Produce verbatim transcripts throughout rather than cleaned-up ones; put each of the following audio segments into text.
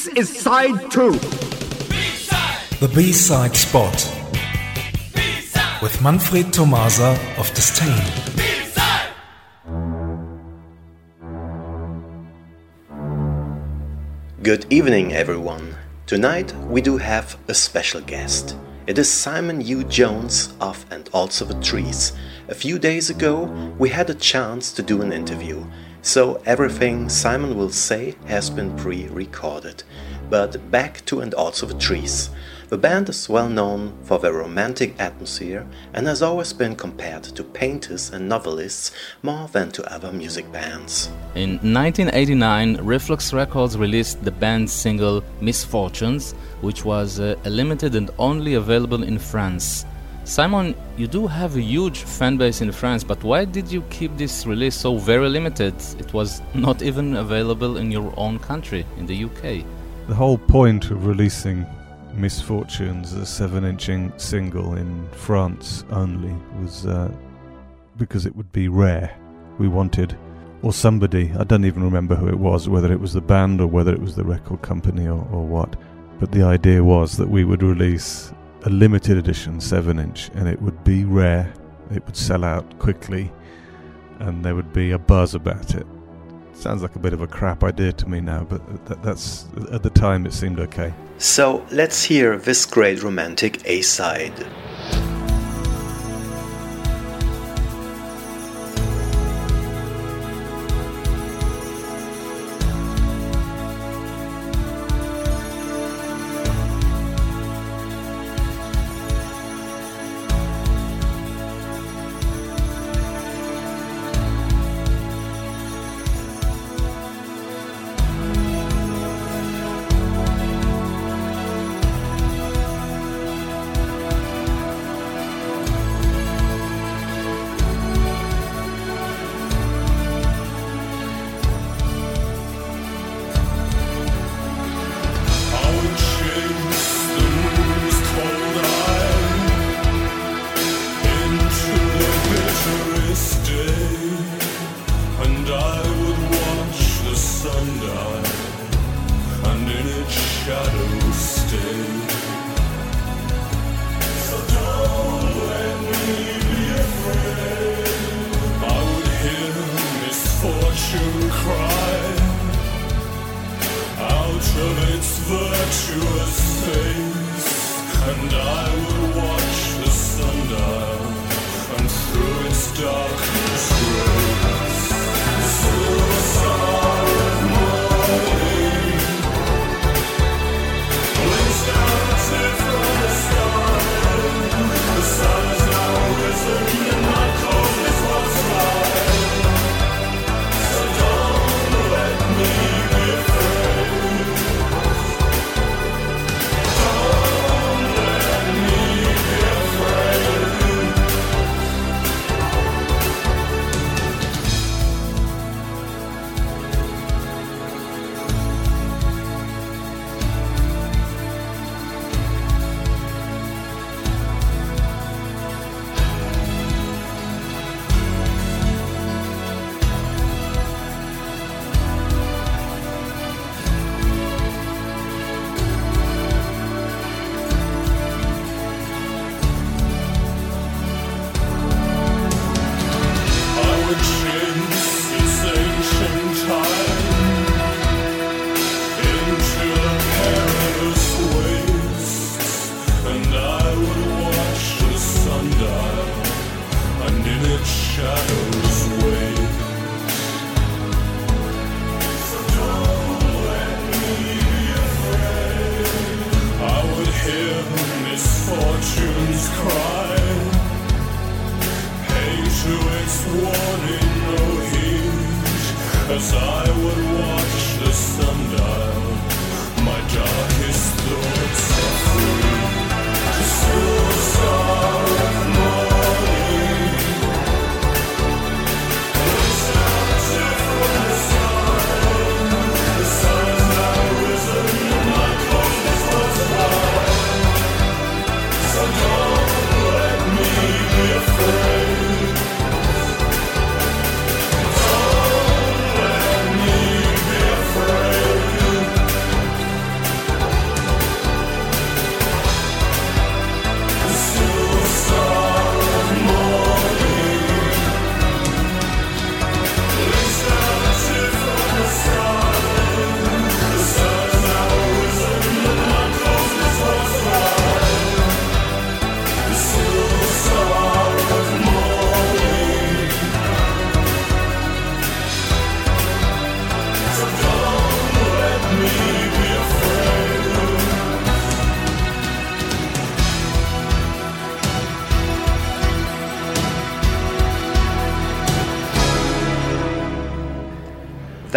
This is side two. B-side. The B-side spot. B-side. With Manfred Tomasa of Disdain. B-side. Good evening, everyone. Tonight we do have a special guest. It is Simon Hugh Jones of And Also the Trees. A few days ago we had a chance to do an interview, so everything Simon will say has been pre-recorded. But back to And Also the Trees. The band is well known for their romantic atmosphere and has always been compared to painters and novelists more than to other music bands. In nineteen eighty-nine, Reflux Records released the band's single Misfortunes, which was uh, limited and only available in France. Simon, you do have a huge fan base in France, but why did you keep this release so very limited? It was not even available in your own country, in the U K. The whole point of releasing Misfortunes, a seven-inch single in France only, was uh, because it would be rare. We wanted, or somebody, I don't even remember who it was, whether it was the band or whether it was the record company or, or what, but the idea was that we would release a limited edition seven-inch and it would be rare, it would sell out quickly, and there would be a buzz about it. Sounds like a bit of a crap idea to me now, but that, that's at the time it seemed okay. So let's hear this great romantic A-side. Don't let me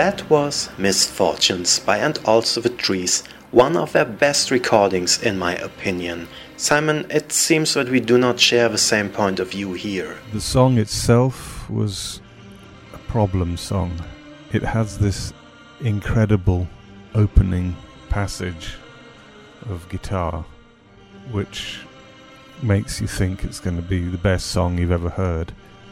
That was Misfortunes by And Also the Trees, one of their best recordings in my opinion. Simon, it seems that we do not share the same point of view here. The song itself was a problem song. It has this incredible opening passage of guitar which makes you think it's going to be the best song you've ever heard.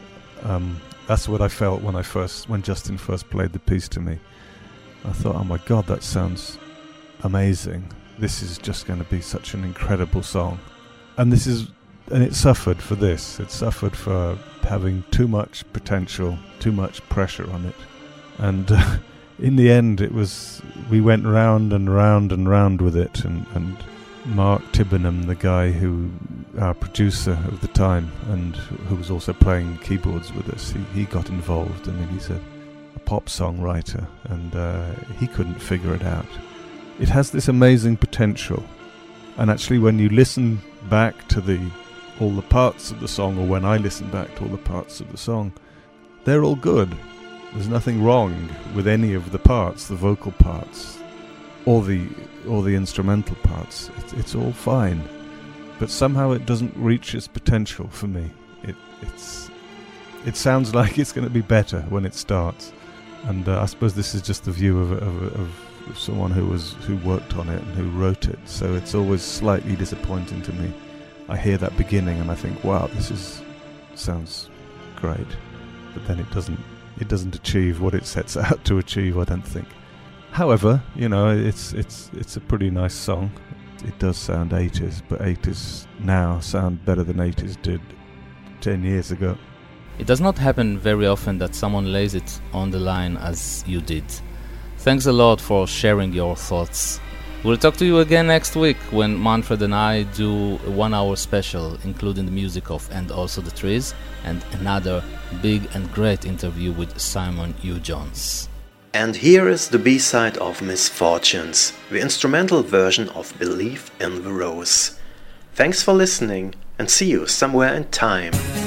Um, that's what I felt when I first, when Justin first played the piece to me. I thought, oh my god, that sounds amazing. This is just going to be such an incredible song. And this is, and it suffered for this. It suffered for having too much potential, too much pressure on it. And uh, in the end, it was, we went round and round and round with it, and, and Mark Tibbenham, the guy who, our producer of the time, and who was also playing keyboards with us, he, he got involved. I mean, he's a, a pop songwriter, and uh, he couldn't figure it out. It has this amazing potential, and actually when you listen back to the all the parts of the song, or when I listen back to all the parts of the song, they're all good. There's nothing wrong with any of the parts, the vocal parts, or the or the instrumental parts. It's, it's all fine, but somehow it doesn't reach its potential for me. It it's it sounds like it's going to be better when it starts, and uh, I suppose this is just the view of of, of someone who was who worked on it and who wrote it. So it's always slightly disappointing to me. I hear that beginning and I think, wow, this is sounds great, but then it doesn't. It doesn't achieve what it sets out to achieve, I don't think. However, you know, it's it's it's a pretty nice song. It does sound eighties, but eighties now sound better than eighties did ten years ago. It does not happen very often that someone lays it on the line as you did. Thanks a lot for sharing your thoughts. We'll talk to you again next week when Manfred and I do a one-hour special, including the music of And Also the Trees, and another big and great interview with Simon Hugh Jones. And here is the B-side of Misfortunes, the instrumental version of Believe in the Rose. Thanks for listening, and see you somewhere in time.